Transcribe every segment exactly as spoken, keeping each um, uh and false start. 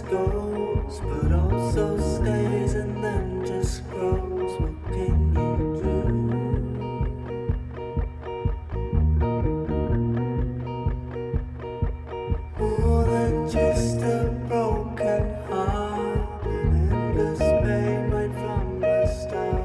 goes, but also stays and then just grows. What can you do? More than just a broken heart, an endless pain right from the start.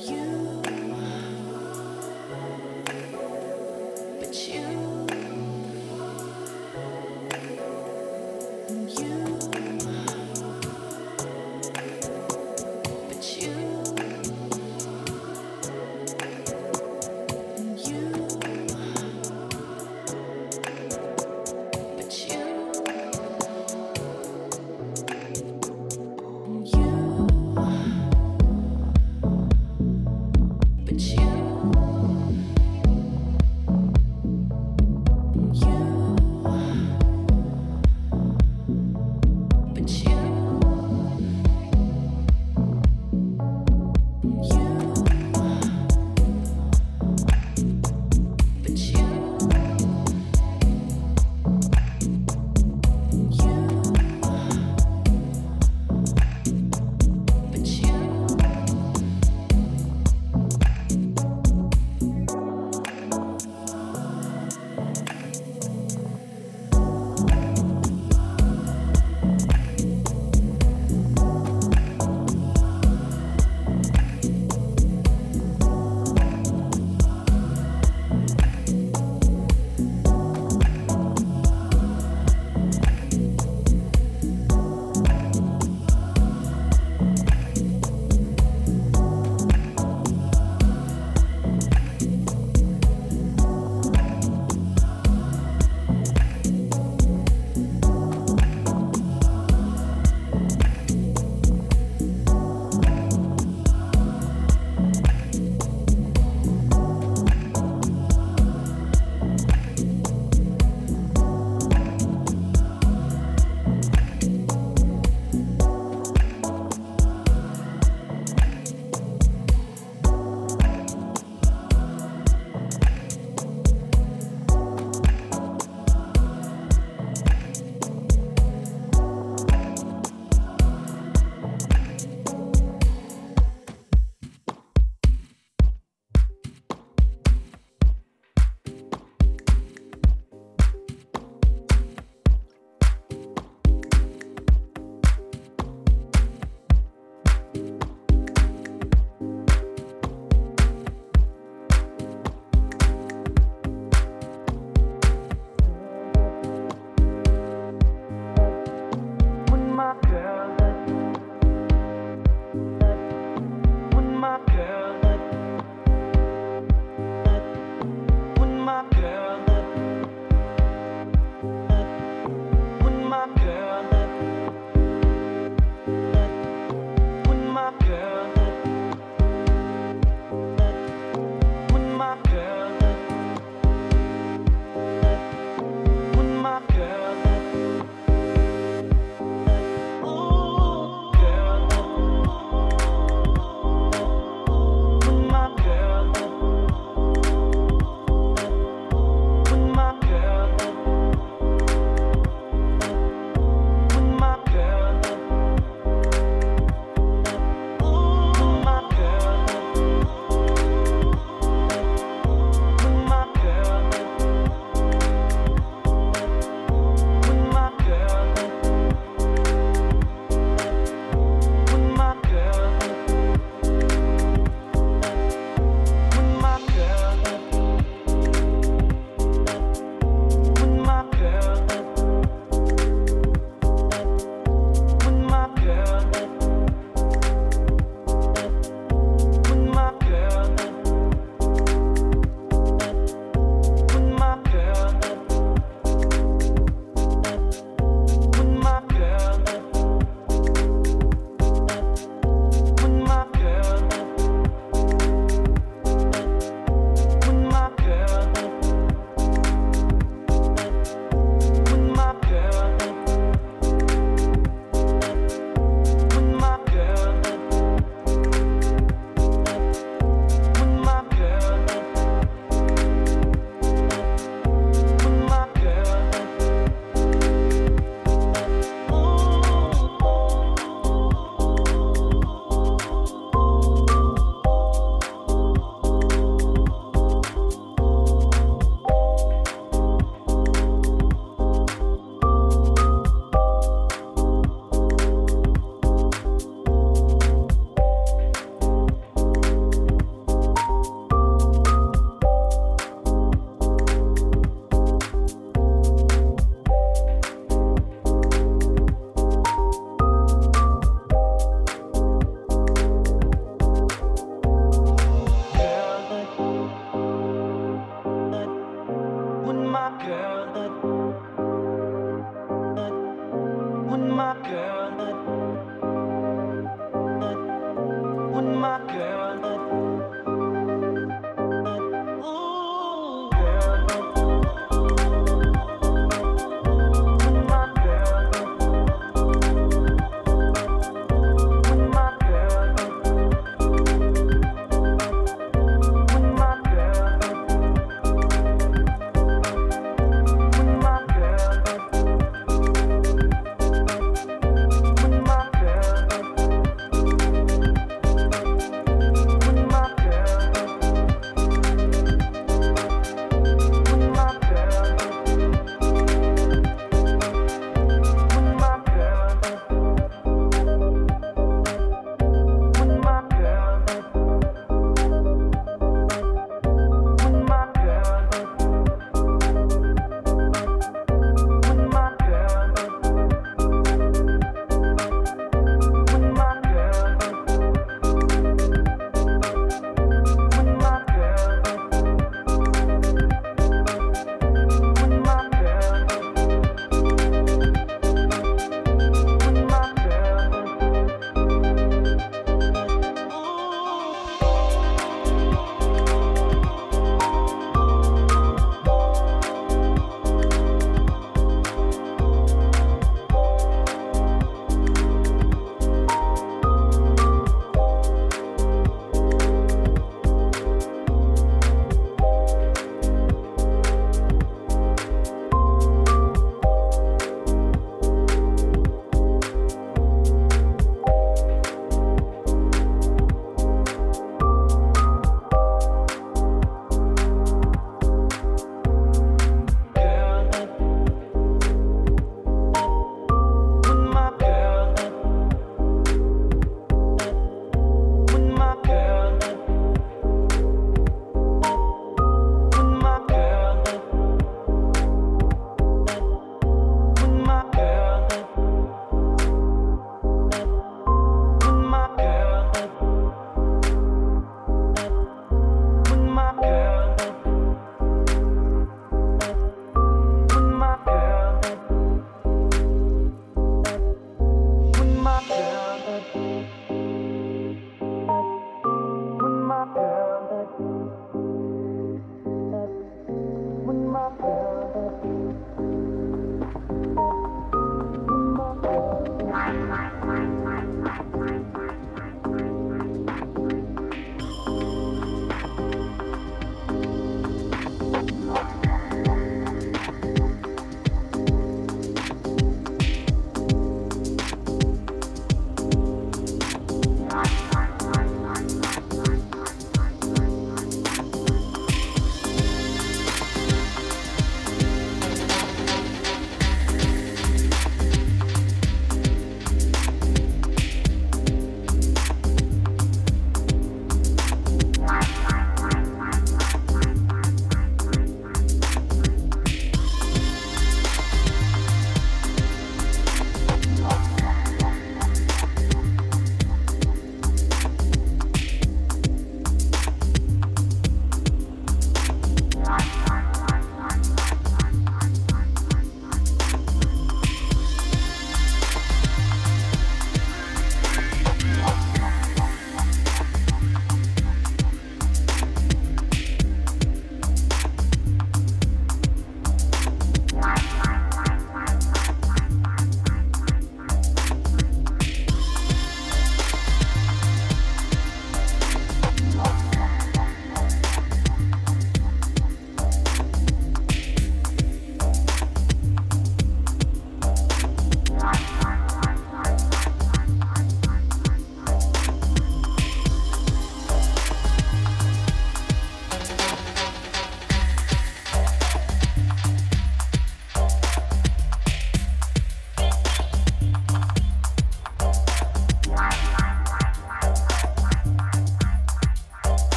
But you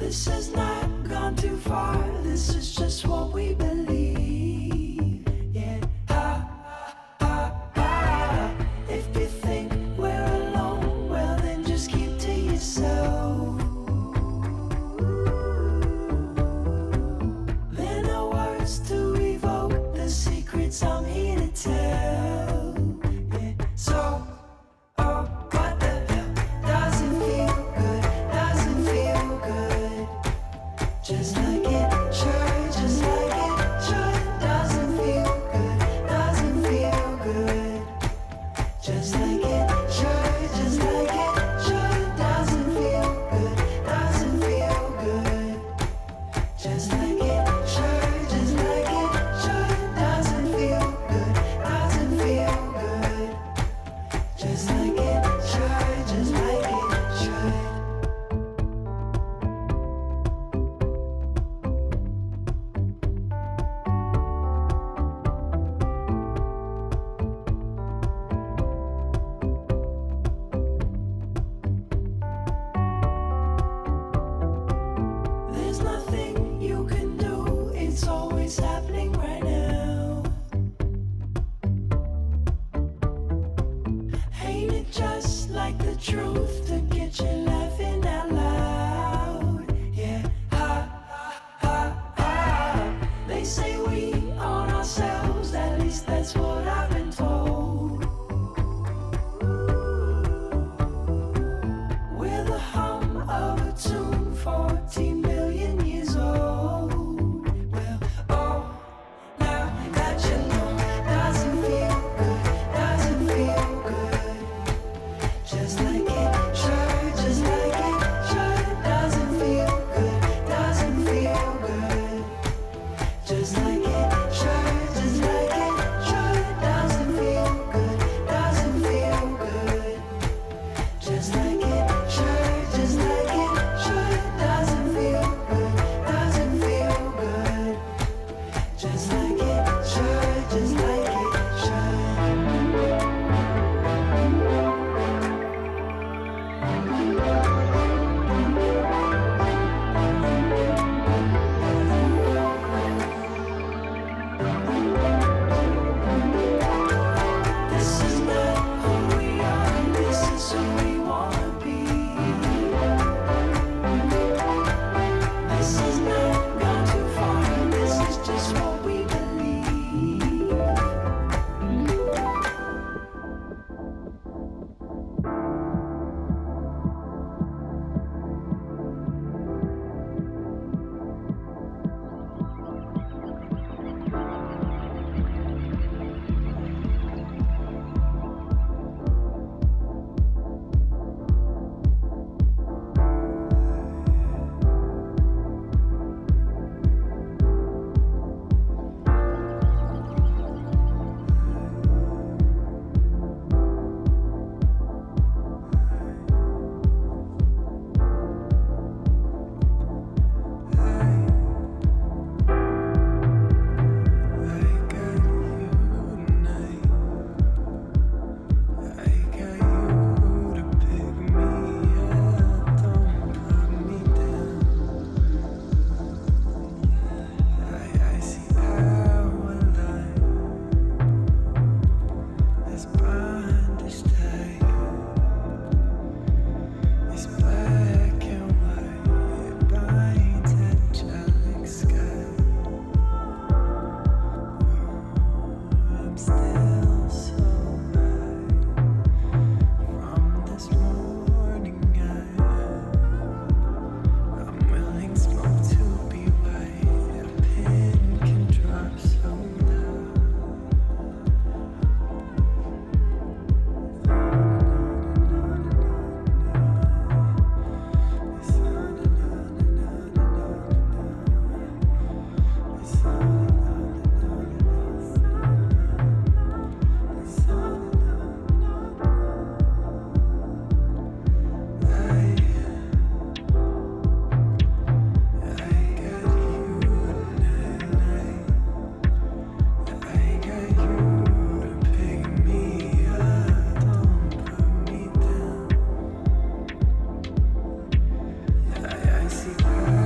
This has not gone too far. This is just what we believe. Yeah. Ha, ha, ha. If you think we're alone, well then just keep to yourself. There are no words to evoke the secrets I'm here to tell. Yeah. So. Just like it should, just like it should. Doesn't feel good, doesn't feel good. Just like it should, just like it should. Doesn't feel good, doesn't feel good. Just like it should, just like it should. Doesn't feel good, doesn't feel good. Just like it should, just like it should. Truth to get you laughing out loud. Yeah, ha, ha, ha. They say we own ourselves, at least that's what I've been told. We're the hum of a tune, fourteen million years old. Well, oh, now that you know, doesn't feel good, doesn't feel good. Just like it should, just like it should. Doesn't feel good, doesn't feel good. Just like it should, just like it should. Doesn't feel good, doesn't feel good. Just like it should, just like it should. Doesn't feel good, doesn't feel good. Just like it should, just like it should. This is not who we are, this is who we wanna be. This has not gone too far, this is just what we believe. I see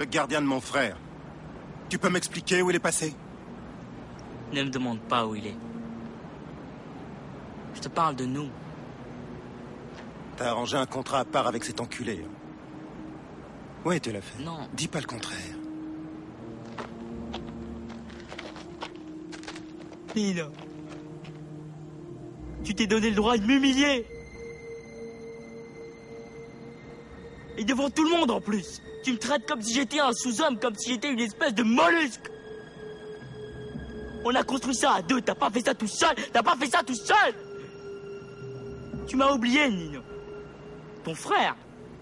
gardien de mon frère. Tu peux m'expliquer où il est passé? Ne me demande pas où il est. Je te parle de nous. T'as arrangé un contrat à part avec cet enculé. Hein. Ouais, tu l'as fait. Non. Dis pas le contraire. Nina, tu t'es donné le droit de m'humilier. Et devant tout le monde en plus. Tu me traites comme si j'étais un sous-homme, comme si j'étais une espèce de mollusque. On a construit ça à deux, t'as pas fait ça tout seul, t'as pas fait ça tout seul. Tu m'as oublié, Nino. Ton frère.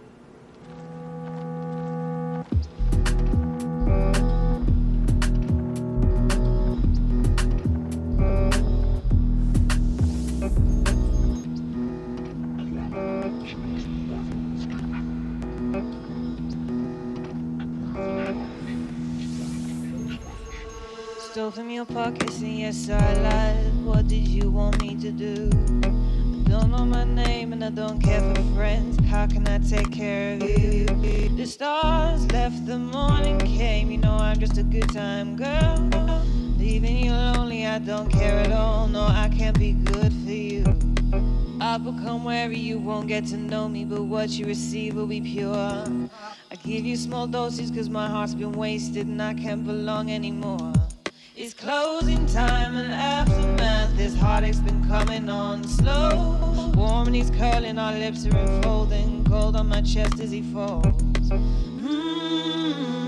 Stole from your pockets and yes I lied. What did you want me to do? I don't know my name and I don't care for friends. How can I take care of you? The stars left, the morning came. You know I'm just a good time girl. Leaving you lonely, I don't care at all. No, I can't be good for you. I'll become wary, you won't get to know me, but what you receive will be pure. I give you small doses cause my heart's been wasted and I can't belong anymore. It's closing time and aftermath. This heartache's been coming on slow. Warm and he's curling, our lips are enfolding. Cold on my chest as he falls. Mm-hmm.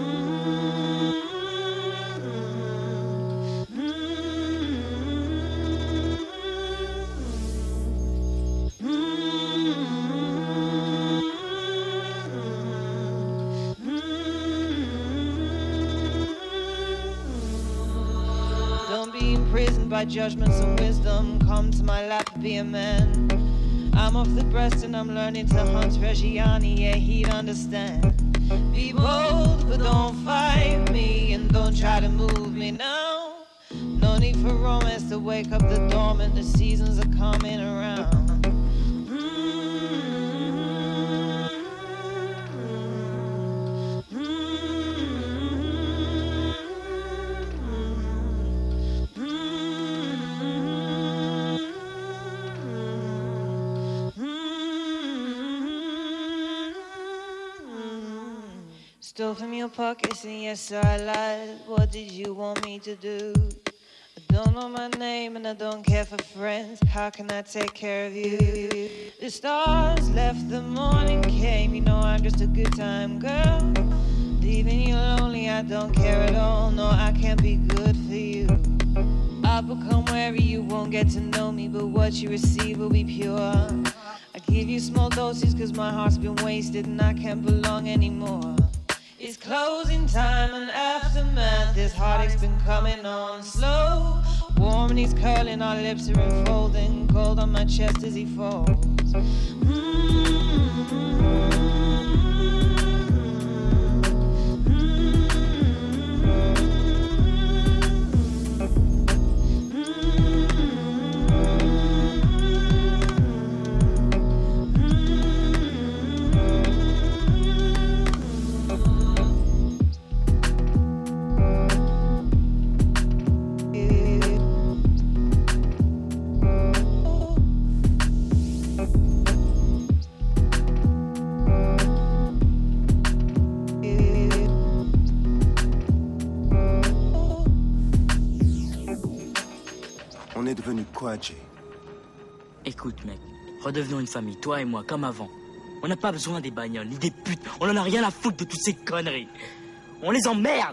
By judgments and wisdom, come to my lap, be a man. I'm off the breast and I'm learning to hunt Reggiani, yeah, he'd understand. Be bold, but don't fight me, and don't try to move me now. No need for romance to wake up the dormant, the seasons are coming around. Stole from your pockets and yes I lied. What did you want me to do? I don't know my name and I don't care for friends. How can I take care of you? The stars left, the morning came. You know I'm just a good time girl. Leaving you lonely, I don't care at all. No, I can't be good for you. I'll become wary, you won't get to know me, but what you receive will be pure. I give you small doses cause my heart's been wasted and I can't belong anymore. It's closing time and aftermath. This heartache's been coming on slow. Warm and he's curling, our lips are enfolding. Cold on my chest as he falls. Mm-hmm. On est devenu quoi, Jay? Écoute, mec, redevenons une famille, toi et moi, comme avant. On n'a pas besoin des bagnoles, ni des putes. On en a rien à foutre de toutes ces conneries. On les emmerde.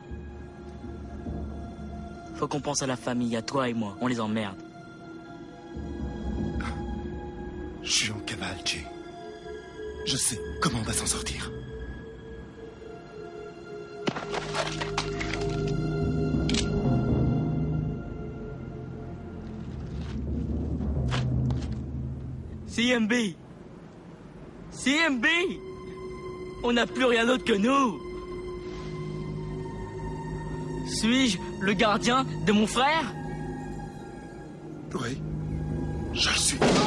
Faut qu'on pense à la famille, à toi et moi. On les emmerde. Je suis en cavale, Jay. Je sais comment on va s'en sortir. C M B! C M B! On n'a plus rien d'autre que nous! Suis-je le gardien de mon frère? Oui, je le suis.